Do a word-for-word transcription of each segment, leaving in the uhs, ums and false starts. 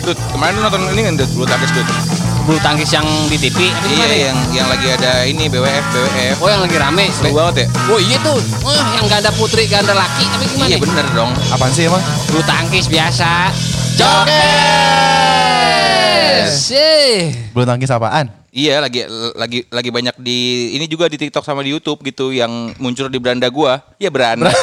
Dut, kemarin lu nonton ini kan Dut, bulu tangkis Dut. Bulu tangkis yang di T V apa Iya, gimana ya? yang yang lagi ada ini B W F, B W F. Oh, yang lagi rame. Seru banget ya? Oh iya tuh. Oh, yang ganda putri, ganda laki apa gimana? Iya bener dong. Apaan sih emang? Bulu tangkis biasa. Jokes. Eh. Bulu tangkis apaan? Iya, lagi lagi lagi banyak di ini juga di TikTok sama di YouTube gitu yang muncul di beranda gua. Iya beranda.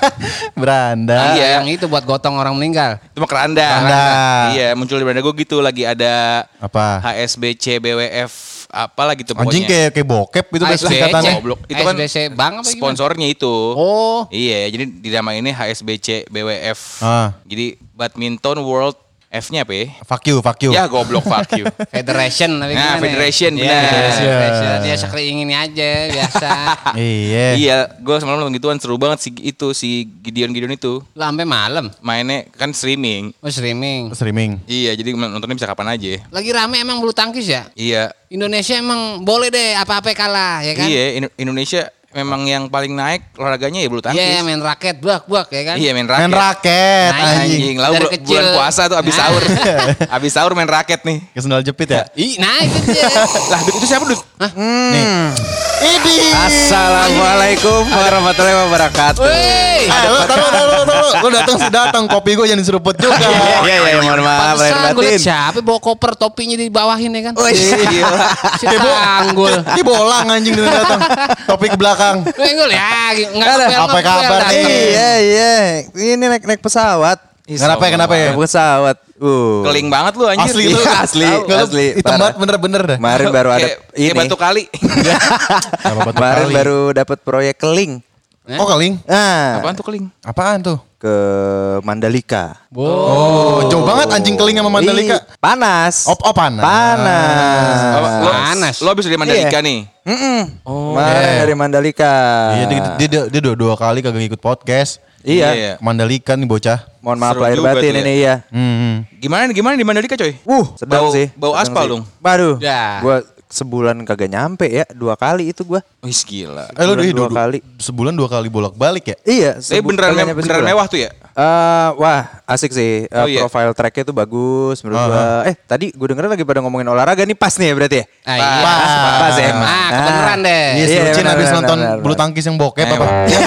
Beranda. Iya. Yang itu buat gotong orang meninggal. Itu mah keranda. Keranda. Iya, muncul di beranda gua gitu lagi ada Apa? H S B C B W F apalah gitu pokoknya. Anjing kayak kayak bokep itu H S B C. singkatannya. Goblok. Itu kan S B C Bank apa gimana? sponsornya itu. Oh. Iya, jadi dinamainnya H S B C B W F. Ah. Jadi Badminton World F-nya apa ya? Fuck you, fuck you. Ya goblok fuck you. Federation tapi Nah, gimana ya? Federation, Iya, benar. Federation. Ya sekali ingin aja biasa. Iya. Iya, gue semalam nonton gituan seru banget si itu si Gideon Gideon itu. Lah sampai malam. Mainnya kan streaming. Oh streaming. Streaming. Iya, jadi nontonnya bisa kapan aja. Lagi rame emang bulu tangkis ya? Iya. Indonesia emang boleh deh apa-apa kalah ya kan? Iya, In- Indonesia memang yang paling naik olahraganya ya bulu tangkis. Iya main raket buak-buak ya kan? Iya, main raket. Main raket Nah, anjing. Anjing, lalu Dari bu- kecil. bulan puasa tuh abis Nah. sahur. Abis sahur main raket nih. Ke sendal jepit ya? Ih, nah itu dia. Lah, Dut, itu siapa, Dut? Nih. Ini. Assalamualaikum warahmatullahi wabarakatuh. Woi. Ah, lu taruh, taruh, taruh. Lu datang sih datang, kopi gue jangan diseruput juga. Iya iya mohon maaf lahir Pantesan gue batin. liat siapa bawa koper topinya di bawahin ya kan? Oh iya. Si Tanggul. Ini bolang anjing dengan datang. Topi ke belakang. Tanggul ya, enggak Ada, ngepel, apa ngepel kabar datang. nih? Iya iya. Ini naik naik pesawat. Kenapa ya, kenapa ya? Naik pesawat. Uh. Keling banget lu anjir. Asli lu. Iya, asli, Tahu, asli, hitam parah. banget bener-bener dah. Kemarin baru ada Kayak- kayak ini. batu kali. Sama batu Kemarin kali. baru dapat proyek keling. Oh keling? Ah, Apaan tuh keling? Apaan tuh? ke Mandalika. Oh, jauh banget anjing keling sama Mandalika. Ih, panas. Oh, oh panas. Panas. Oh, lo, Panas. lo habis dari Mandalika Iya. nih. Mm-mm. Oh. Kemarin iya. dari Mandalika. Iya, dia, dia, dia, dia dua, dua kali kagak ngikut podcast. Iya. Iya. Ke Mandalika nih bocah. Mohon maaf Seru lahir juga batin tuh ya. ini ya. Hmm. Gimana gimana di Mandalika coy? Uh, sedang Bau- sih. bau Sedang aspal sih. dong. Waduh. Ya. Gua sebulan kagak nyampe ya, dua kali itu gua. Wih gila. Eh lu Sebulan ih, dua du- kali. Sebulan dua kali bolak-balik ya? Iya, Tapi sebu- beneran kagak me- nyampe beneran sebulan. mewah tuh ya? Eh, wah, asik sih. Eh, Oh, iya. Profile tracknya tuh bagus menurut Ah, gua. Eh, tadi gue denger lagi pada ngomongin olahraga nih pas nih ya berarti ya? Ah, iya. Pas, pas ya. Ah, kebenaran deh. Iya, si Iya, Lucin benar, habis benar, nonton benar, bulu benar. tangkis yang bokep Eh, apa?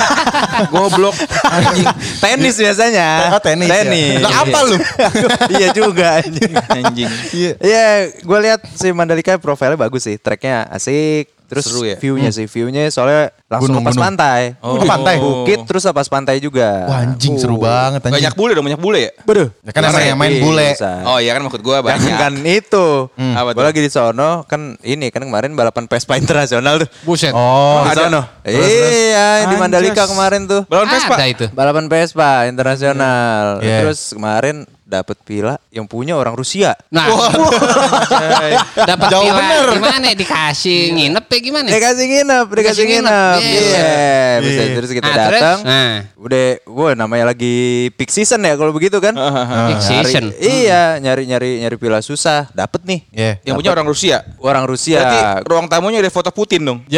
Goblok. Anjing. Tenis biasanya. Oh, tenis. ya? Tenis. Lah apa lu? Iya juga anjing. Anjing. Iya. Iya, gue lihat si Mandalika profilnya bagus sih, tracknya asik. Terus Seru ya? view-nya sih, view-nya soalnya langsung Gunung, lepas gunung. pantai. Oh. Ke pantai? Bukit terus lepas pantai juga. Wah anjing Uh. seru banget anjing. Banyak bule dong, banyak bule ya? Beduh. Ya kan emang yang main bule. Bisa. Oh iya kan maksud gua Jangan banyak. kan itu. Apa Gue tuh? lagi di sono kan ini kan kemarin balapan Vespa internasional tuh. Buset. Oh, Di ada. sono. Terus, terus. Iya, di Anjas. Mandalika kemarin tuh. Balon Vespa. Ada itu. Balapan Vespa internasional. Iya. Terus kemarin dapat villa yang punya orang Rusia. Nah, dapat Jauh villa bener. gimana? Dikasih nginep ya gimana? Dikasih nginep, dikasih Dikasih nginep. nginep. Iya. Iya, bisa Iya. terus kita Nah, terus? datang. Nah. Udah, wah namanya lagi peak season ya kalau begitu kan. Peak Nyari- season. Iya, nyari-nyari nyari villa susah, dapet nih. Iya. Yang punya orang Rusia. Orang Rusia. Berarti ruang tamunya ada foto Putin dong. Ya.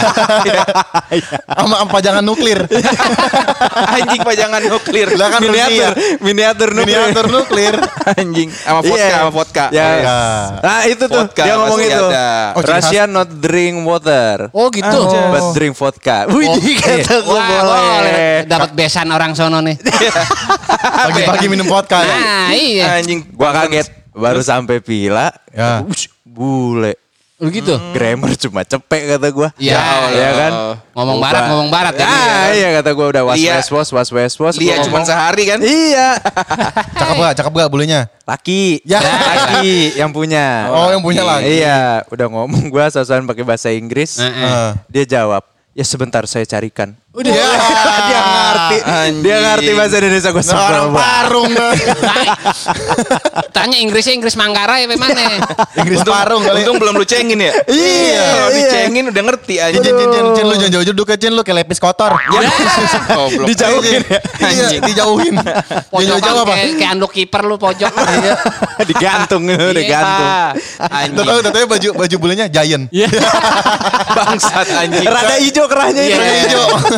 Sama sama pajangan nuklir. Anjing pajangan nuklir. Lah kan miniatur, Rusia. miniatur nuklir. Miniatur nuklir. Anjing sama vodka Iya. sama vodka. Ya. Iya. Nah, itu tuh Vodka dia ngomong pasti itu. ada. Oh, ciri khas. Russia not drink water. Oh gitu. But drink vodka. Wih, kata gue Wah, boleh. dapat besan orang sono nih. Pagi-pagi minum vodka ya. Nah, iya. Anjing. Gua kaget baru sampai villa. Ya. Ush, bule. Lu gitu. Grammar cuma cepek kata gua. Ya, ya kan? Ngomong barat, ngomong barat kan. Ah, iya kata gua udah was Lia. was was was was was. Dia Gua cuma ngomong, sehari kan? Iya. Cakep gak? Cakep gak bulunya? Laki. Ya. Laki yang punya. Oh, yang punya laki. Iya, udah ngomong gua sosokan pakai bahasa Inggris. Heeh. Eh. Dia jawab, "Ya sebentar saya carikan." Udah. Ya. Dia ngerti. Anjing. Dia ngerti bahasa Indonesia gua Nah, orang sebel banget. parung dah. Tanya Inggrisnya Inggris Manggarai apa mana? Inggris parung kali. Untung belum lu cengin ya. Iya, Kalau iya. dicengin udah ngerti Cin, anjing. cin, cin, cin, cin, lu jangan jauh-jauh duduk Cin, lu kayak lepis kotor. Ya. Goblok. Dijauhin ya. Iya, Anjing. dijauhin. Pojokan Jauh-jauh apa? kayak, kayak anduk kiper lu pojok. Iya. Digantung, digantung. Anjing. Tahu tahu baju baju bulunya Giant. Iya. Bangsat anjing. Rada hijau kerahnya itu. Iya. Hijau.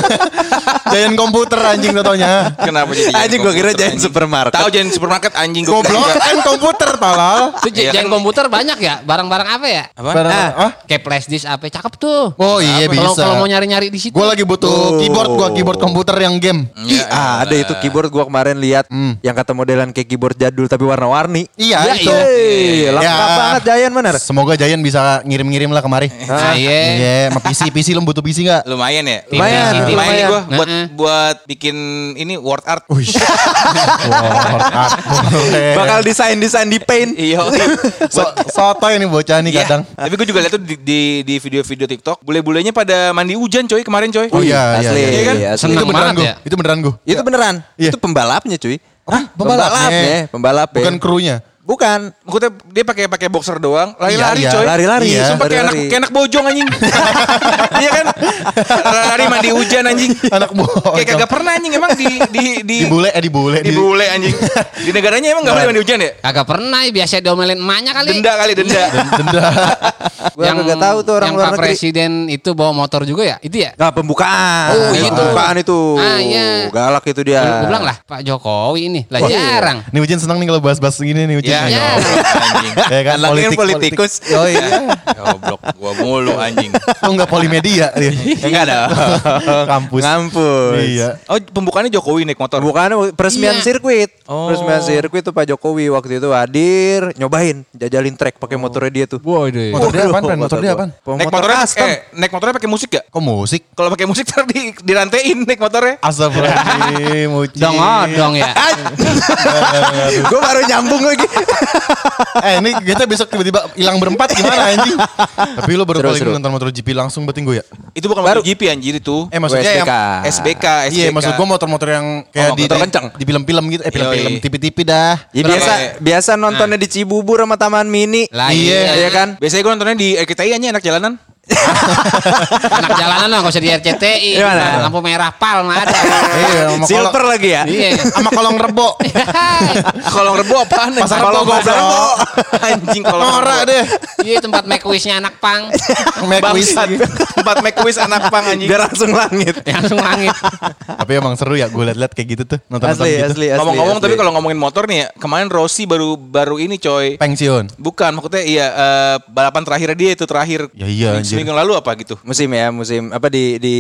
Giant komputer anjing totonya. Kenapa jadi Anjing gua kira komputer, Giant anjing? supermarket. Tahu Giant supermarket anjing gua. Goblok kan komputer tolol. Itu Iya jangan kan? komputer banyak ya? Barang-barang apa ya? Apa? Barang- Ah. ah? Kayak flash disk apa? Cakep tuh. Oh iya Kalau bisa. kalau mau nyari-nyari di situ. Gue lagi butuh Oh. keyboard, gua keyboard komputer yang game. Ih, Ya, ah, ada elah. itu keyboard gua kemarin lihat yang kata modelan kayak keyboard jadul tapi warna-warni. Iya Iya, itu. iya. Hei, lengkap Ya. banget Giant bener. Semoga Giant bisa ngirim-ngirim lah kemari. Nah, iya. Iya, sama P C, P C lu butuh P C nggak? Lumayan ya? Lumayan, Lumayan, lumayan nih lumayan. gue buat Nah, buat bikin ini word art. Wih. Word art boleh. Bakal desain-desain di paint. Iya. So, soto ini bocah nih Iya. kadang. Tapi gue juga lihat tuh di, di, di video-video TikTok, bule-bulenya pada mandi hujan coy kemarin coy. Oh iya, iya, Asli, iya. Iya kan? asli. Seneng Itu beneran banget gue. ya. Itu beneran gue. Itu beneran. Iya. Itu pembalapnya cuy. Hah? Pembalapnya? Pembalap ya. Bukan krunya. Bukan. Maksudnya dia pakai pakai boxer doang, lari-lari Iya, iya. coy. Lari-lari. Iya. Sumpah kayak anak, Lari-lari. kayak anak bojong anjing. Iya kan? Lari mandi hujan anjing. Anak bocah. Kayak kagak pernah anjing emang di di di Di bule, eh di bule. di bule anjing. Di negaranya emang enggak boleh mandi hujan ya? Kagak pernah, biasa diomelin emaknya kali. Denda kali denda. Denda. Gua kagak tahu tuh orang yang luar Pak negeri. Presiden itu bawa motor juga ya? Itu ya? Nah, pembukaan. Oh, itu. Pembukaan itu. Ah, iya. Galak itu dia. Gue bilang lah, Pak Jokowi ini lah Wah, iya. jarang. Nih Ujian senang nih kalau bahas-bahas gini nih Ujian. Ya, Iya. ya anjing. Ya kan Anaknya politik politikus. politik. Oh iya. Goblok gua mulu anjing. Lu enggak polimedia dia. Enggak ada. Kampus. Ngampus. Iya. Oh, pembukaannya Jokowi naik motor. Pembukaannya peresmian Iya. sirkuit. Oh. Peresmian sirkuit tuh Pak Jokowi waktu itu hadir, nyobain, jajalin trek pakai motornya dia tuh. Waduh. Motor dia Waduh, apaan, Ren? Motor dia gua. apaan? Naik Motor motornya custom. eh naik motornya pakai musik gak? Kok musik? Kalau pakai musik ntar di dirantein naik motornya. Astagfirullahaladzim, Uci. Dong dong ya. Gue baru nyambung lagi. Eh ini kita besok tiba-tiba hilang berempat gimana anjing? Tapi lu baru Seru, kali ini seru. nonton motor G P langsung berarti gue ya? Itu bukan Baru. MotoGP anjir itu. Eh maksudnya S B K. yang S B K, S B K. Iya maksud gue motor-motor yang kayak Oh, di motor kencang. di film-film gitu. Eh film-film, Yoi. T V-T V dah. Ya Berapa biasa ya? biasa nontonnya di Cibubur sama Taman Mini. Lah Iya. iya. Iya kan? Biasanya gue nontonnya di R K T I aja anak jalanan. Anak jalanan lah, nggak usah di R C T I. Di mana? Lampu merah Palma ada. Iya, sama Silver kolong- lagi ya? Iya. sama kolong rebo. Kolong rebo apaan? Pasar kolong Rebo, pasar goblok. rebo. Anjing kolong Norak rebo. deh. Iya tempat make wishnya anak pang. Make wish. Bangsat. Tempat make wish anak pang anjing. Biar langsung langit. Langsung langit. Tapi emang seru ya gue liat-liat kayak gitu tuh. Nonton-nonton Asli, gitu. asli, asli. Ngomong-ngomong asli. tapi kalau ngomongin motor nih ya, kemarin Rossi baru baru ini coy. Pensiun. Bukan, maksudnya iya eh, balapan terakhir dia itu terakhir. Ya iya, Seminggu- anjir. Seminggu lalu apa gitu. Musim ya, musim apa di di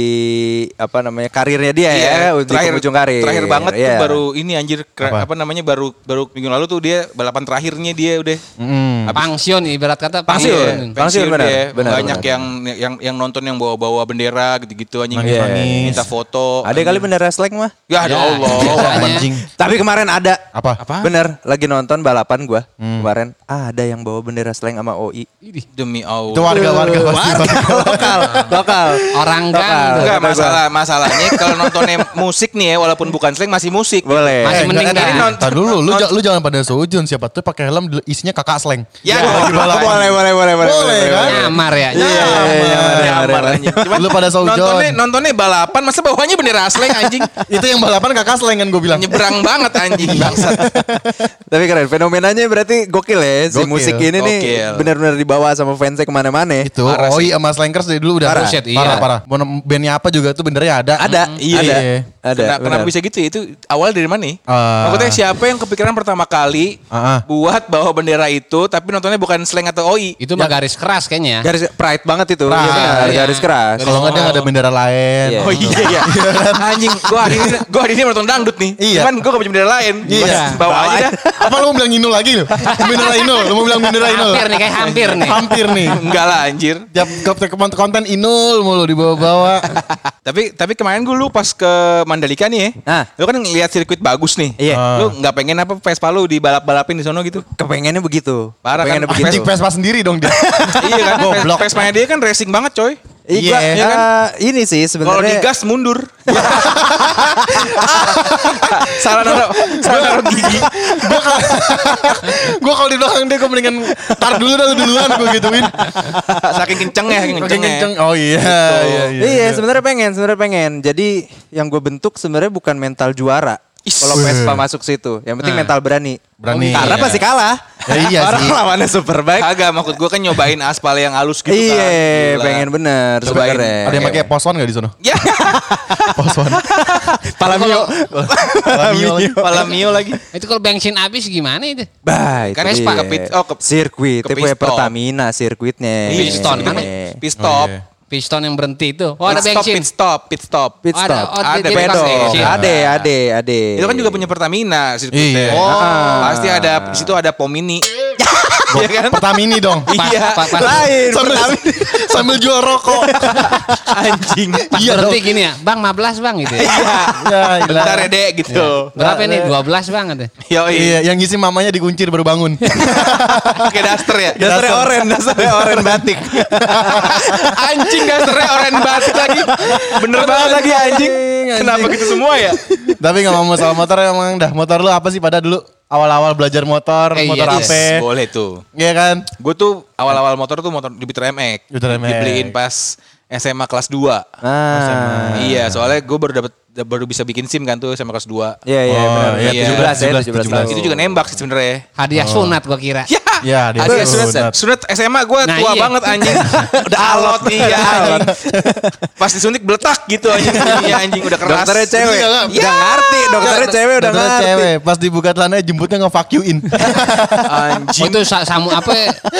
apa namanya karirnya dia Iya, ya, di ujung karir. Terakhir banget tuh Iya. baru ini anjir kera- Apa? apa? namanya baru baru minggu lalu tuh dia balapan terakhirnya dia udah Mm. Pangsion ibarat kata Pensiun. Pensiun, benar, dia. benar, Banyak benar. yang yang yang nonton yang bawa-bawa bendera gitu-gitu anjing. Nangis-nangis. Minta foto. Ada kali bendera slang mah. Ya ada Ya, Allah. biasanya. Anjing. Tapi kemarin ada. Apa? Apa? Bener, lagi nonton balapan gua kemarin. Ah, ada yang bawa bendera slang sama O I. Demi Allah. Itu warga-warga pasti. lokal, lokal. Orang Lokal. gang. Enggak Kata gua. masalah masalahnya kalau nontonnya musik nih ya walaupun bukan slang masih musik. Boleh. Masih Eh, mending enggak, dah. enggak, entar dulu, lu, ja- lu jangan pada seujun siapa tuh pakai helm isinya kakak slang. Ya, lagi balapan. boleh, boleh, boleh, boleh, Boleh, kan? Nyamar ya. Iya, iya, iya, Nyamar, nyamar, anjing. Cuman Lu pada saujon. nontonnya nontonnya balapan masa bawahnya bendera slang anjing. Itu yang balapan kakak slang kan gue bilang. Nyebrang banget anjing bangsat. Tapi keren, fenomenanya berarti gokil ya. Si Gokil, musik ini nih gokil. benar-benar dibawa sama fansnya kemana-mana. Itu Parah Oi sama Slankers dari dulu udah Parah. parah, Buset, iya. parah, parah. Mau nem- bandnya apa juga tuh bendernya ada. Ada, Iya. ada, Iya. ada. Kena- kenapa benar. bisa gitu ya? Itu awal dari mana nih? Ah. Maksudnya siapa yang kepikiran pertama kali Ah, ah. buat bawa bendera itu tapi nontonnya bukan slang atau O I? Itu mah garis keras kayaknya. Garis pride banget itu. Pride. Iya, benar, Iya. garis keras. Kalau nggak dia nggak ada bendera lain. Iya. Oh iya iya. Anjing, gua hari ini gua hari ini nonton dangdut nih. Iya. Cuman gua gak punya bendera lain. Iya. Bawa aja dah. Apa lu mau bilang Inul lagi lu? Bendera Inul, lu mau bilang bendera Inul? Hampir nih kayak hampir nih. Hampir nih. Enggak lah anjir. Tiap ke konten Inul mulu dibawa-bawa. Tapi tapi kemarin gue lu pas ke Mandalika nih ya. Ah. Lu kan ngeliat sirkuit bagus nih. Iya. Lu nggak pengen apa Vespa lu dibalap-balapin di sono gitu? Kepengennya begitu. Parah kan? Kepengennya begitu. Anjing Vespa sendiri dong dia. Iya kan? Goblok. Vespa-nya dia kan racing banget coy. Iya, Iya kan? eh, ini sih Kalau sebenarnya. digas mundur. Salah naruh, salah naruh gigi. Gue kalau di belakang dia gue mendingan tar dulu dah lu duluan gue gituin. Saking kencengnya, saking Makin kencengnya. kenceng. Oh iya, iya, iya. Iya, sebenarnya pengen, sebenarnya pengen. Jadi yang gue bentuk sebenarnya bukan mental juara. Is. Kalau Vespa masuk situ, yang penting Nah. mental berani. Berani. Karena Iya. pasti kalah. Ya iya Orang sih. lawannya Superbike. Kagak, maksud gue kan nyobain aspal yang halus gitu kan. Iya, Gila. pengen bener Cobain. sebenarnya. Ada yang pakai pos one enggak di sono? Ya, Pos one. Palamio. Palamio lagi. Palamio lagi. Itu kalau bensin habis gimana itu? Bah, itu Kan dia. ke pit- oh, ke- sirkuit, ke itu punya pit stop. Pertamina sirkuitnya. Piston, Itu kan Iya. pit stop. Oh, iya. Piston yang berhenti itu. Oh, ada Pit stop, bensin. pit stop, pit stop. Pit Oh, ada, stop. oh, Ada dia- dia pedal. kasih Pedal. bensin. Ade, ade, ade. Itu kan juga punya Pertamina sirkuitnya. Iya. Oh. Pasti ada di situ ada pom mini. Iya kan? Pertamini dong. Iya. Pas, pas, pas, Lain. Sambil sambil jual rokok. Anjing. pas Iya berhenti dong. gini ya. Bang, lima belas bang gitu ya. Iya. Ya, gila. Bentar ya, Dek gitu. Berapa nih? dua belas bang gitu. Yoi. Iya, yang ngisi mamanya dikuncir baru bangun. Pakai daster ya. Dasarnya oren, dasarnya oren batik. Anjing dasternya oren batik lagi. Bener banget lagi anjing. Kenapa gitu semua ya? Tapi nggak mau soal motor emang dah. Motor lu apa sih pada dulu awal-awal belajar motor, Eh, motor iya, apa? Boleh tuh. Iya kan? Gue tuh awal-awal motor tuh motor Jupiter M X. Jupiter M X. Dibeliin pas S M A kelas dua. Ah. Iya, soalnya gue baru dapat baru bisa bikin SIM kan tuh S M A kelas dua. Iya, iya, Oh, benar. iya, tujuh belas ya, tujuh belas tahun. Itu juga nembak sih sebenarnya. Hadiah sunat gua kira. Ya, Ya, dia Hadiah sunat. sunat. Sunat S M A gue Nah, tua iya. banget anjing. Udah alot iya anjing. Pas disuntik beletak gitu anjing. Iya anjing udah keras. Dokternya cewek. Iya, nggak? Udah ngerti, dokternya cewek udah Dokternya ngerti. cewek, pas dibuka celananya jemputnya nge-fuck you-in. Oh, Anjing. itu sa- samu apa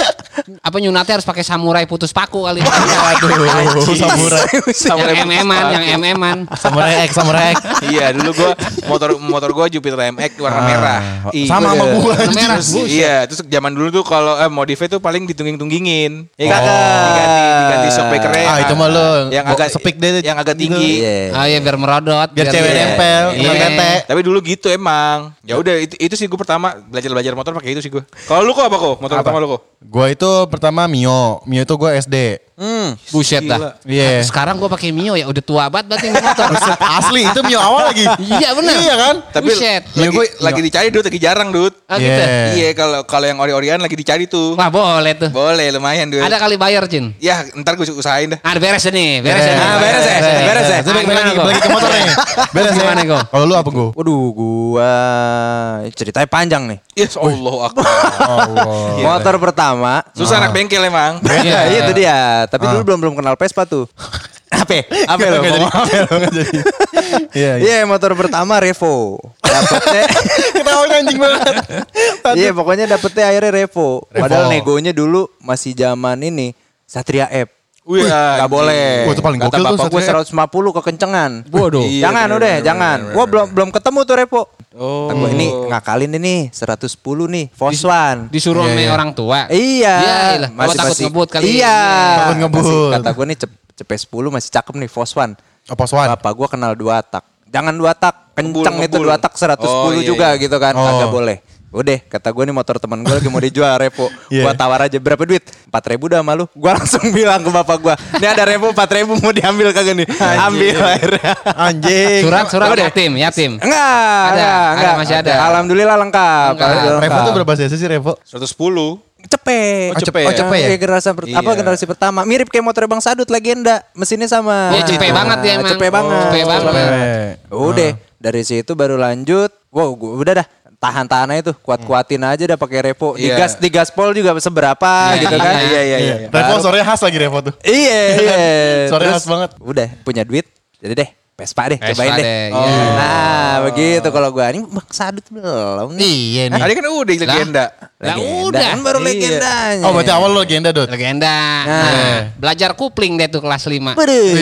apa nyunatnya harus pakai samurai putus paku kali. Aduh, samurai. Samurai yang M M-an, yang M M-an. Samurai X, Samurai X. Iya, dulu gue motor motor gue Jupiter M X warna Ah, merah. Ih, sama sama gua. Warna merah. Terus, iya, terus zaman dulu tuh kalau eh, modifnya tuh paling ditungging-tunggingin. Ya kan? Oh. Diganti diganti shockbreakernya. Ah, itu mah lu yang bawa agak speak deh yang agak gitu. tinggi. Iya. Oh iya biar merodot. Biar cewek dia- nempel, Iya. kena tete. Tapi dulu gitu emang. Ya udah itu, itu sih gue pertama belajar-belajar motor pakai itu sih gue. Kalau lu kok apa kok? Motor Apa? pertama lu kok? Gua itu pertama Mio. Mio itu gua S D. Hmm. Buset Gila. dah. Iya. Sekarang gua pakai Mio ya udah tua banget berarti ini motor. Asli itu Mio awal lagi. Iya benar. Iya kan? Tapi Buset. lagi, Iya, gua- lagi dicari Dut, lagi jarang Dut. Ah, gitu. Iya. Iya, kalau kalau yang ori-orian lagi dicari tuh. Wah boleh tuh. Boleh lumayan Dut. Ada kali bayar Jin. Ya, ntar gue usahain dah. Ah beres nih, beres ya nih. Ah, beres ya, beres ya. Saya balik Gimana, lagi, Go? balik ke motor nih. Beres ya. Gimana, Go? Kalau lu apa, Go? Waduh, gua ceritanya panjang nih. Ya Allah Akbar. Allah. Iya. Motor pertama. Susah anak bengkel emang. Iya, Iya. itu dia. Tapi Ah. dulu belum belum kenal Vespa tuh. Apa? Apa lo? Nggak jadi. ngomong apa lo? Nggak jadi. Iya, iya. Iya, motor pertama Revo. Dapatnya Ketawanya anjing banget. Iya, pokoknya dapetnya akhirnya Revo. Revo. Padahal negonya dulu masih zaman ini Satria F. Wih, Gak anjing. boleh. Wah, itu paling Kata gokil tuh bapak gue Satria F. seratus lima puluh kekencengan. Waduh. Iya, jangan bener, udah, bener, jangan. bener, Gue bener. belum belum ketemu tuh Revo. Oh. Kata gua, ini ngakalin ini seratus sepuluh nih, Foswan. Disuruh Iya, sama iya. orang tua. Iya. Iya, iyalah. Oh, takut ngebut kali. Iya. Takut ngebut. Masih- Kata gue nih cep, cepet sepuluh masih cakep nih Foswan. Oh, pos one. Bapak gue kenal dua tak. Jangan dua tak, kenceng Ngebul, itu ngebul. dua tak seratus sepuluh Oh, iya, juga iya. gitu kan. Oh. Agak boleh. Udah, kata gue nih motor teman gue lagi mau dijual Revo. Iya. Gua tawar aja berapa duit? empat ribu dah sama lu. Gue langsung bilang ke bapak gue, ini ada Revo empat ribu mau diambil kagak nih? Ambil akhirnya. Anjing. Surat surat Udah. yatim, yatim. Enggak, Ada, enggak, ada, enggak. masih ada. Alhamdulillah lengkap. Lengkap. Alhamdulillah Revo lengkap. tuh berapa cc sih Revo? seratus sepuluh. Cepet. Oh, cepet. Oh, cepet ya? Iya, generasi per- Iya. apa generasi pertama. Mirip kayak motor Bang Sadut legenda. Mesinnya sama. Iya, cepet banget dia emang. Cepet banget. Cepet banget. Cepet. Udah, dari situ baru lanjut. Wow, gua udah dah. Tahan-tahan aja tuh, kuat-kuatin aja dah pakai Revo. Iya. Digas di gaspol juga seberapa Iya, gitu kan. Iya, iya, iya. Iya. Revo sorenya khas lagi Revo tuh. Iya, iya. Suaranya Terus, khas banget. Udah, punya duit. Jadi deh, Vespa deh, Vespa cobain deh. deh, Oh. iya. Nah, begitu kalau gua ini Bang Sadut belum nih. Iya nih. Tadi kan udah legenda. Lah Legenda, udah. kan baru Iya. legendanya. Oh, berarti awal lu legenda, Dot. Legenda. Nah, belajar kupling deh tuh kelas lima.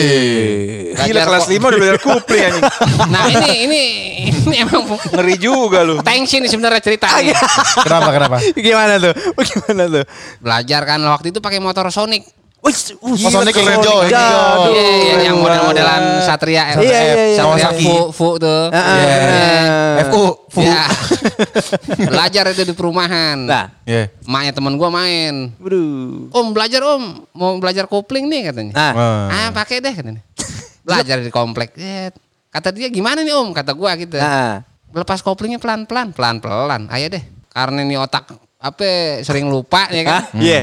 Bedeh. Gila Belajar kelas kok. lima udah belajar kupling anjing. Nah ini ini ini emang Ngeri juga lu. tension nih sebenarnya ceritanya. Kenapa, kenapa? Gimana tuh? Gimana tuh? Belajar kan waktu itu pakai motor Sonic. Wih, uh, Oh, Sonic yang hijau, yang Jadul. hijau. Iya, iya, yang model-modelan Satria F. Iya, iya, iya. Satria Kawasaki. Fu, Fu tuh. Heeh. Iya. F U. Fu. Ya. Belajar itu di perumahan. Nah, Iya. Maknya temen gua main. waduh. Om belajar om, mau belajar kopling nih katanya. Nah, Ah pakai deh katanya. Belajar di komplek. Eh, kata dia gimana nih om? Kata gua gitu. nah. Lepas koplingnya pelan-pelan, pelan-pelan. Ayo deh. Karena ini otak apa sering lupa ya kan. Iya.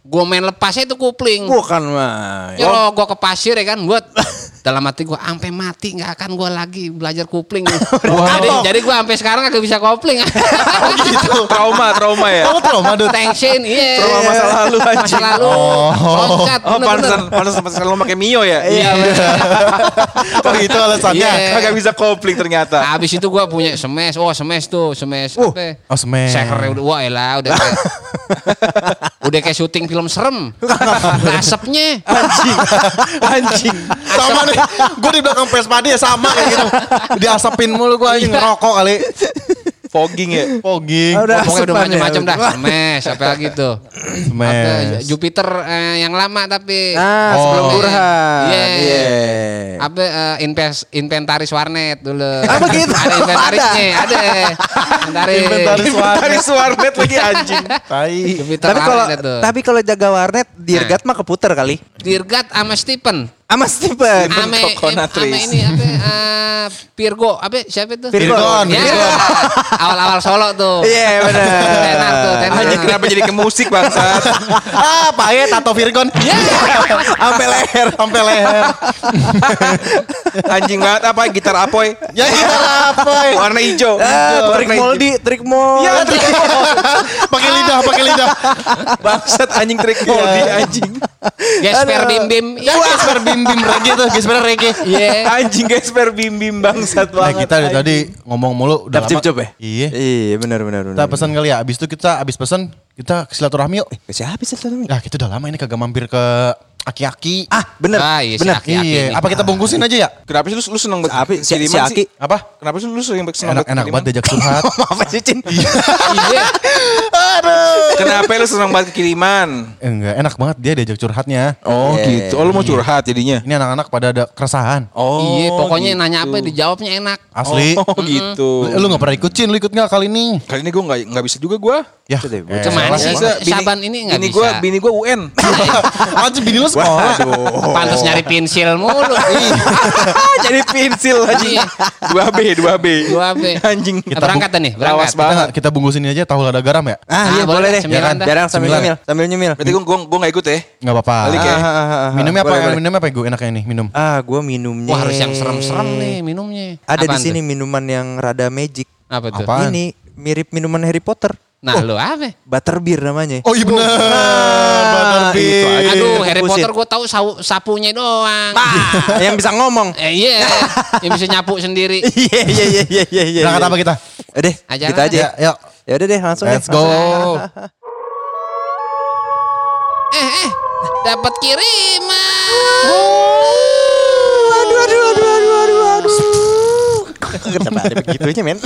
Gue main lepasnya itu kupling. Bukan mah. Ya kalau gue ke pasir ya kan, buat dalam hati gue sampai mati nggak akan gue lagi belajar kupling. jadi jadi gue sampai sekarang agak bisa kopling. Oh gitu. Trauma, trauma ya. Kamu trauma Dut? Tension, iya. Trauma masa lalu Masa anjing. lalu. Oh. Loncat, Oh, bener-bener. pantesan pantesan pantesan lo pakai Mio ya? Iya. Oh gitu alasannya. Iya. Kagak bisa kopling ternyata. Habis itu gue punya smash, oh smash tuh, smash Uh, apa? oh, smash. Sekernya udah, wah elah udah kayak, udah kayak syuting film serem. Asapnya. Anjing. Anjing. Sama nih. Gue di belakang Vespa dia sama kayak gitu. Diasapin mulu gue anjing ngerokok kali. Fogging ya. Fogging. Oh, udah Pokoknya udah asepan ya. macam-macam dah. Smash, apa lagi tuh? Smash. Apa, Jupiter eh, yang lama tapi. Ah, Oh. sebelum Burhan. Iya. Iya. Apa eh, invest, inventaris warnet dulu. Apa gitu? Ada inventarisnya, ada. Inventaris. Inventaris warnet. Dari warnet lagi anjing. Tai. Jupiter Tapi kalau warnet tuh. tapi kalau jaga warnet Dirgat mah keputer kali. Dirgat sama Stephen. Sama Steven. Ame, em, Coconutris. ame ini apa? eh, Virgo, apa siapa itu? Virgon. Ya, Virgon. awal-awal Solo tuh. Iya benar. Tenar tuh, tenar. Anjing kenapa jadi ke musik bangsat? Ah, pakai tato Virgon. Ya. Sampai leher, sampai leher. Anjing banget apa gitar apoy? Ya kita apa? Warna hijau. Ah, trik moldi, trik moldi. Ya, trik Pakai lidah, pakai lidah. bangsat anjing trik moldi anjing. Gesper Bim Bim. Ya, gesper bim bim reggae tuh, gesper reggae. Iya. Anjing gesper bim bim bangsat Nah, banget. kita dari tadi ngomong mulu udah Dap cip lama. cop ya? Iya. Iya benar benar benar. Kita pesan kali ya. Abis itu kita abis pesan kita ke silaturahmi yuk. Ke siapa sih itu? Nah, kita udah lama ini kagak mampir ke aki-aki. Ah, bener. Ah, iya, si bener. Aki. Aki Iya, ini. apa kita bungkusin aja ya? Kenapa sih lu, lu seneng banget Apa? Si- kiriman si sih? Aki. Apa? Kenapa sih lu seneng banget seneng Enak banget enak kiriman? banget diajak curhat. Apa sih Cin? Iya. Kenapa lu seneng banget kiriman? Eh, enggak, enak banget dia diajak curhatnya. Oh Iya. gitu. Oh lu mau curhat jadinya? Ini anak-anak pada ada keresahan. Oh Iya, pokoknya gitu. nanya apa dijawabnya enak. Asli. Oh gitu. Lu gak pernah ikut Cin, lu ikut gak kali ini? Kali ini gue nggak nggak bisa juga gue. Ya, Itu deh, eh, Cuman salah sih banget. Saban ini nggak bini bisa. gue bini gue U N. Anjir bini lu sekolah. Pantas nyari pensil mulu. Jadi pensil anjing. Iya. dua B dua B. Dua B. Anjing. Kita berangkat nih, berangkat. Lawas Kita, banget. kita bungkusin ini aja tahu lada garam ya? Ah, Ah, iya boleh boleh dah, deh. cemilan Jangan dah. jarang sambil Cemilan. nyemil, sambil nyemil. Berarti gue gue gue nggak ikut ya. Gak apa-apa. Balik ya. Ah, ah, ah, ah. Minumnya apa? Boleh, boleh. Minumnya apa gue enaknya nih minum? Ah, gua minumnya. Wah, harus yang serem-serem nih minumnya. Ada di Apaan sini tuh? minuman yang rada magic. Apa tuh? Apaan? Ini mirip minuman Harry Potter. Nah, lu apa? Butterbeer namanya. Oh iya bener. itu aja. Aduh, Harry Bullshit. Potter gue tahu sau- sapunya doang. Ah, yang bisa ngomong. Eh, iya, yang bisa nyapu sendiri. Iya iya iya iya iya iya. Berangkat apa kita? Udah, Aja kita lah. aja. Ya, yuk. Ya udah deh, langsung Let's deh. go. Eh, eh, dapat kiriman. Aduh aduh aduh aduh aduh aduh. Kenapa ada begitunya, men?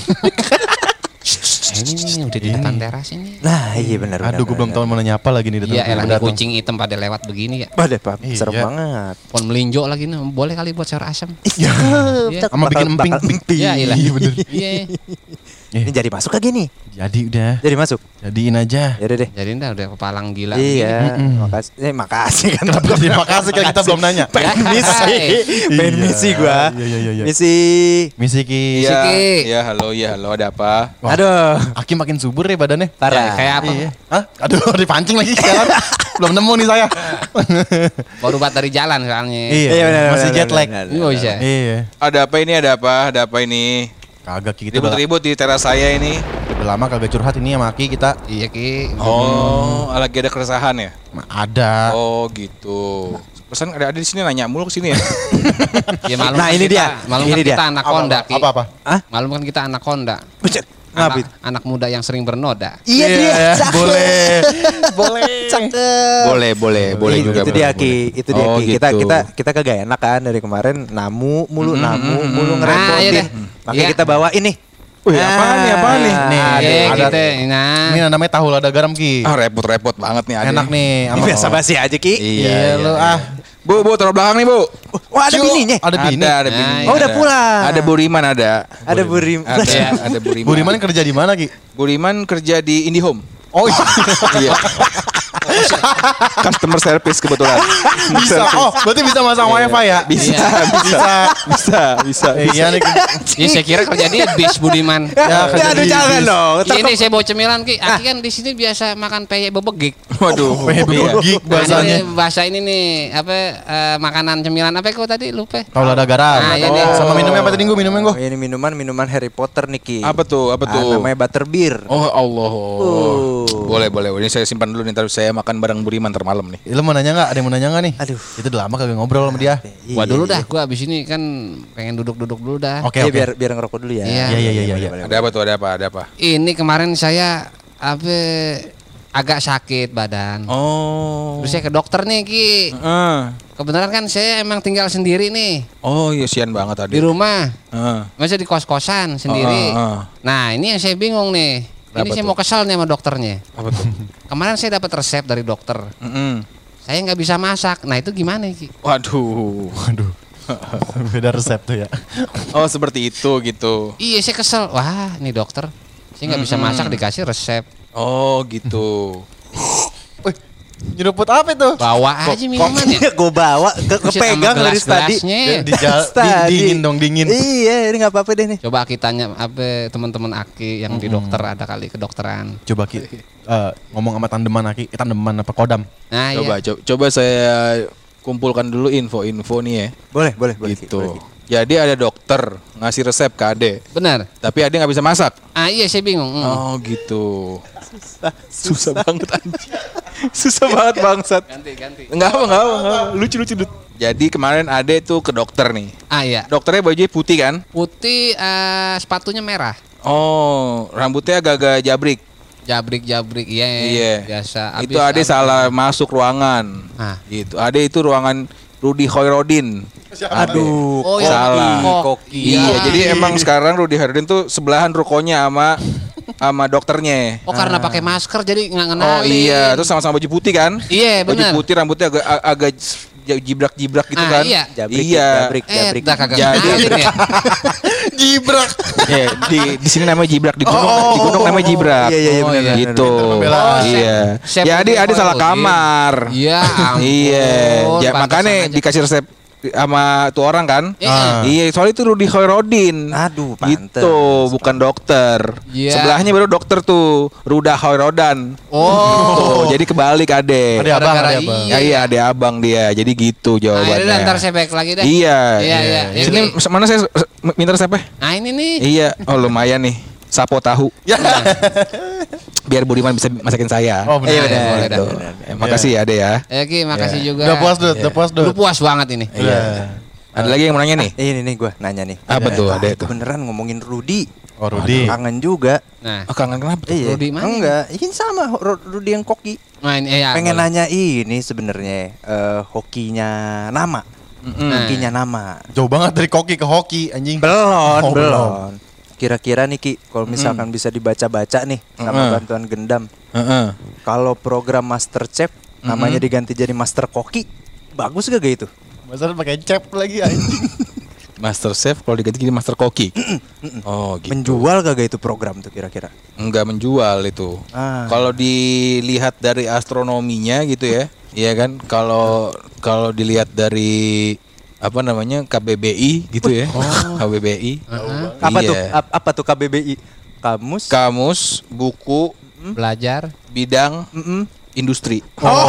Eh, ini nih udah di depan teras ini. Nah, iya benar benar. Aduh gue belum tahu mau nanya apa lagi nih datang. Iya, elah nih datang. kucing hitam pada lewat begini ya. Waduh, Pak, Iya. serem banget. Pohon melinjo lagi nih, boleh kali buat sayur asam. Iya. Iya. Sama bikin emping. Ya, ilah. Iya bener. Iya. Ini jadi masuk lagi nih. Jadi udah. Jadi masuk. Jadiin aja. Ya udah deh. Jadi udah udah kepalang gila. Iya, makasih. Eh, makasih kan. Kenapa terima kasih kan kita belum nanya. Pengen misi. Pengen Iya. misi gua. Iya, iya, iya, iya. Misi. Misi Ki. Iya. Siki. Iya halo iya halo ada apa? Wah. Aduh. Aki makin subur ya badannya. Parah. Kayak apa? Iya. Hah? Aduh dipancing lagi sekarang. Belum nemu nih saya. Baru bat dari jalan soalnya. Iya, Iya, benar, masih benar, jet lag. benar, Ini mau bisa. Iya. Ada apa ini ada apa ada apa ini? Kagak Ki, kita udah, Ribut-ribut di teras saya ini. udah lama kagak curhat ini sama Aki kita. Iya Ki. Oh lagi ada keresahan ya? Ma- Ada. Oh gitu. Pesan ada ada di sini nanya mulu ke sini ya. Ya, malum Nah, kan ini kita, dia. Malum Ini kan dia. kita anak Honda Ki. Apa apa? Hah? Malum kan kita anak Honda. Buset. Anak, Ngapit. anak muda yang sering bernoda. Iya dia. Cakep. boleh. Boleh. Cakep. boleh boleh boleh Itu- juga. Itu dia Ki, itu dia Oh, Ki. Kita gitu. kita kita kagak enak kan dari kemarin namu mulu Mm, namu mm, mulu mm. ngerepotin. Ah, iya deh. Makanya Iya. kita bawa ini. Wih apaan nih apaan nih? Nih, Iya ada- gitu. Nah. Ini namanya tahu lada garam Ki. Ah repot-repot banget nih ada. Enak nih. Ini biasa basi aja Ki. Iya, lu ah. Bu, bu, taruh belakang nih, Bu. Wah, ada Cu, bininya. Ada bini. Ada, ada bini. Nah, Oh, udah pulang. Ada Buriman ada. Ada burim. Ada, ada Buriman. Buriman kerja di mana Ki? Buriman kerja di IndiHome. Oh iya. Iya. Customer service kebetulan. Bisa. Oh, berarti bisa masang wifi ya? Bisa, Iya. bisa, bisa, bisa. Iya nih. Ya saya kira kerja di bis Budiman. Ya, kerja aduh di jangan bis. dong. Iya, ini saya bawa cemilan Ki. Aki kan di sini biasa makan peyek bebegik. Waduh. Iya. Gig Nah, bahasanya. ini bahasa ini nih apa eh, makanan cemilan apa kok tadi lupa. Kalau ada garam. Nah, iya deh. Sama minumnya apa tadi gue minumnya gue? Oh, ini minuman minuman Harry Potter nih Ki. Apa tuh? Apa Ah, tuh? namanya butterbeer. Oh Allah. Oh. Boleh, boleh. Ini saya simpan dulu nih, ntar saya makan bareng Budiman ntar malam nih. Eh, Lu mau nanya nggak? Ada yang mau nanya nggak nih? Aduh. Itu udah lama kagak ngobrol sama dia. Gua dulu dah, gua abis ini kan pengen duduk-duduk dulu dah. Oke, Iya, oke. biar biar ngerokok dulu ya. Iya. Iya, iya, iya, iya. boleh, Ada apa tuh? Ada apa? Ada apa? Ini kemarin saya apa agak sakit badan. Oh. Terus saya ke dokter nih Ki. Heeh. Kebetulan kan saya emang tinggal sendiri nih Oh iya, sian banget tadi. di rumah. Heeh. Masa di kos-kosan sendiri. Ah, ah, ah. Nah ini yang saya bingung nih. Ini Apa saya tuh? mau kesal nih sama dokternya. Apa tuh? Kemarin saya dapat resep dari dokter. Mm-mm. Saya nggak bisa masak. Nah itu gimana Ki? Waduh. Waduh. Beda resep tuh ya. Oh seperti itu gitu. Iya saya kesel. Wah ini dokter. Saya nggak bisa masak dikasih resep. Oh gitu. Wih, nyeruput apa itu? Bawa aja minuman ya. Gue bawa ke Buset, kepegang sama dari tadi. gelas-gelasnya. Di jal- Tadi. di- dingin dong, dingin. Iya, ini nggak apa-apa deh nih. Coba Aki tanya apa teman-teman Aki yang di dokter ada kali kedokteran. Coba Ki, eh, ngomong sama tandeman Aki, eh, tandeman apa kodam? Nah Coba, iya. coba, coba saya kumpulkan dulu info-info nih ya. Boleh, boleh, boleh. Ki, Gitu. boleh, Ki. Jadi ada dokter ngasih resep ke Ade, Benar. tapi Ade nggak bisa masak. Ah iya saya bingung. Hmm. Oh gitu. Susah banget anjing. Susah banget bangsat. Ganti ganti. Enggak apa, enggak apa, enggak apa. Lucu lucu. Dut. Jadi kemarin Ade tuh ke dokter nih. Ah iya. Dokternya bajunya putih kan? Putih eh, sepatunya merah. Oh, rambutnya agak-agak jabrik. Jabrik-jabrik iya. Iya. Biasa. Itu Ade salah masuk ruangan. Ah. Gitu. Ade itu ruangan Rudy Hoirodin. Aduh, Oh, ya. Salah. Koki. Iya, jadi emang sekarang Rudy Hoirodin tuh sebelahan rukonya sama sama dokternya. Oh karena pakai masker jadi nggak Oh ngenalin. iya, terus sama-sama baju putih kan? Iya, Baju benar. putih, rambutnya agak agak jibrak-jibrak gitu Ah, kan? iya. Jabrik, iya. jabrik, Eh, jabrik. dah kagak Jadi- ngenalin ya. Gibrak. Iya, di di sini namanya jibrak, di gunung di gunung namanya jibrak. Iya, iya, iya, Oh, benar, iya. Gitu. Pinter pembelaan. Iya. Chef Ya, Ade Rudy Ade salah Hoirodin. kamar. Iya, ampun. Iya. Ya, Pantesan makanya aja. dikasih resep sama tuh orang kan? Iya. Iya, soalnya itu Rudy Hoirodin. Aduh, pantes. Gitu, bukan dokter. Iya. Sebelahnya baru dokter tuh, Ruda Hoirodan. Oh. Tuh, jadi kebalik Ade. Ada abang, Gara-gara ada abang. iya. Ya iya, ada abang dia. Jadi gitu Nah, jawabannya. yaudah, ntar saya back lagi deh. Iya. Iya, iya. Sini Ini- mana saya minta resepnya? Nah ini nih. Iya. Oh lumayan nih. Sapo tahu. Ya. Biar Budiman bisa masakin saya. Oh, benar. Iya, benar. Boleh dah. Gitu. Eh, makasih ya Ade ya. Ya Ki, makasih juga. Udah puas Dut, udah puas Dut. Lu puas banget ini. Iya. Ada lagi yang mau nanya nih? Eh, ini nih gue nanya nih. Apa tuh, Ah, Ade itu tuh? beneran ngomongin Rudy. Oh Rudi. Kangen juga. Nah, Oh, kangen kenapa tuh? Iya. Rudy mana Enggak, ini sama Ru- Rudy yang koki. nah ini eh, ya, Pengen boleh. nanya ini sebenarnya eh, hokinya nama. Nah. Hokinya nama. Jauh banget dari koki ke hoki anjing. Belon, Oh, belon. Kira-kira nih Ki, kalau misalkan bisa dibaca-baca nih sama Mm. bantuan gendam. Heeh. Kalau program Master Chef namanya diganti jadi Master Koki, bagus gak gitu? Masa pakai cap lagi anjing. Master Chef kalau diganti jadi Master Koki. Oh, gitu. Menjual gak itu program tuh kira-kira? Enggak menjual itu. Ah. Kalau dilihat dari astronominya gitu ya, iya kan? Kalau kalau dilihat dari apa namanya K B B I gitu ya, K B B I. Apa Iya. tuh? Ap- apa tuh K B B I? Kamus? Kamus, buku, belajar bidang, Mm-mm. industri.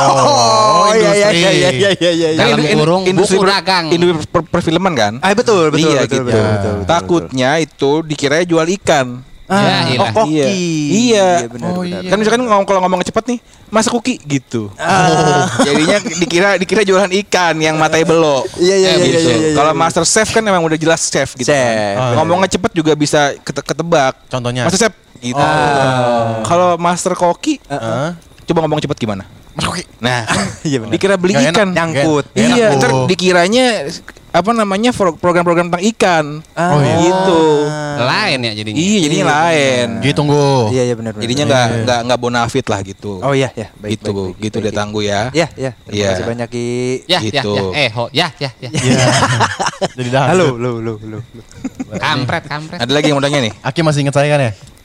Oh, iya iya industri. iya iya iya iya iya. Dalam Kan indu- kurung industri buku per- dagang. Industri per- perfilman kan? Ah betul betul iya betul, gitu. betul, betul, betul, Takutnya itu dikira jual ikan. Ya, Ah, ilah. oh, koki. Iya. Iya. benar, Oh, benar. iya. Kan misalkan ngomong kalau ngomong cepet nih, masak kuki gitu. Jadinya dikira dikira jualan ikan yang matai belok. Iya iya Eh, iya Gitu. iya. iya, iya. Kalau master chef kan memang udah jelas chef gitu. Chef. kan. Oh, Ngomongnya cepet juga bisa kete- ketebak. Contohnya. Master chef gitu. Kalau master koki, Heeh. coba ngomong cepet gimana? Mas koki. Nah, Iya benar. dikira beli Nggak enak, ikan. nyangkut. Nggak enak, Iya, Bu. ntar dikiranya apa namanya pro- program-program tentang ikan. Ah. Oh, iya. Gitu. lain ya jadinya. Iya, jadinya lain. Gitu tunggu. Iya iya benar benar. Jadinya nggak nggak nggak bonafit lah gitu. Oh iya ya, baik gitu, baik, baik, gitu baik, deh baik. tangguh ya. Iya iya. Terima Iya. kasih banyak Ki. Ya, Gitu. ya, ya. Eh, ho, ya, ya, ya. Iya. Jadi dah. Halo, halo, halo, halo. Kampret, kampret. Ada lagi yang mau tanya nih? Aki masih ingat saya kan ya?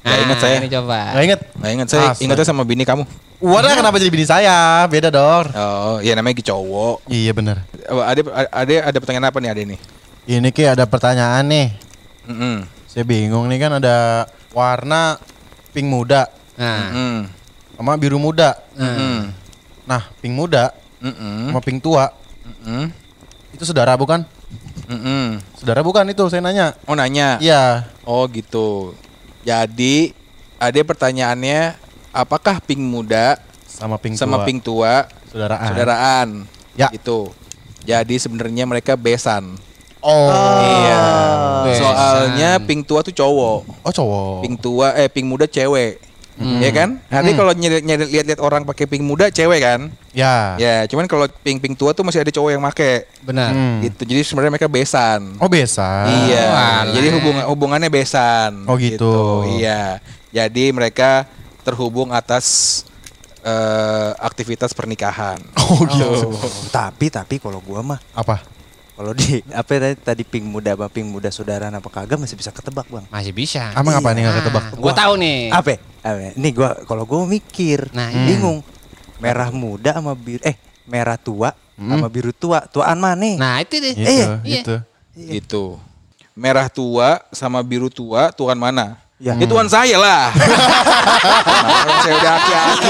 Gak ingat saya. Ini coba. Gak inget? Gak ingat saya. Astaga. Ingatnya sama bini kamu. Wadah kenapa jadi bini saya? Beda dong. Oh, iya namanya cowok. Iya bener. Oh, Ade, ade ada pertanyaan apa nih Ade nih? Ini Ki ada pertanyaan nih. Mm-mm. Saya bingung nih kan ada warna pink muda Nah. Mm. sama biru muda. Mm. Nah, pink muda Mm-mm. sama pink tua Mm-mm. itu saudara bukan? Mm-mm. Saudara bukan itu saya nanya. Oh nanya. Iya. Oh gitu. Jadi Ade pertanyaannya apakah pink muda Sama pink sama tua. pink tua Saudaraan. saudaraan? Ya. Gitu. Jadi sebenarnya mereka besan. Oh. Iya. Besan. Soalnya pink tua tuh cowok. Oh cowok. Pink tua eh pink muda cewek. Ya kan? Nanti kalau nyari- nyari- lihat-lihat orang pakai pink muda cewek kan? Ya. Ya, cuman kalau pink pink tua tuh masih ada cowok yang make. Benar. Hmm. Gitu. Jadi sebenarnya mereka besan. Oh besan. Iya. walah. Jadi hubungan hubungannya besan. Oh, gitu. Iya. Jadi mereka terhubung atas eh, aktivitas pernikahan. Oh gitu. Tapi tapi kalau gua mah Apa? kalau di apa ya tadi tadi pink muda apa pink muda saudara apa kagak masih bisa ketebak, Bang. Masih bisa. Emang apa nih nggak ketebak? Gue tahu nih. Apa? Apa? Nih gua kalau gua mikir, Nah, iya. bingung. Merah muda sama biru eh merah tua sama biru tua. Tuaan mana? Nah, itu deh. Gitu, Iya. gitu. Gitu. Merah tua sama biru tua, tuan mana? Ya. Ya tuan saya lah. Nah, orang saya udah aki-aki.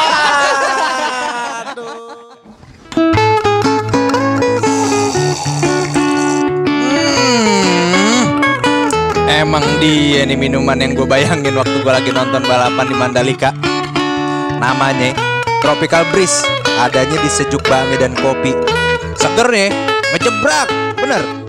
Emang dia nih minuman yang gue bayangin waktu gue lagi nonton balapan di Mandalika. Namanya Tropical Breeze. Adanya di Sejuk Bangi dan Kopi. Seger nih, ngejebrak. Bener.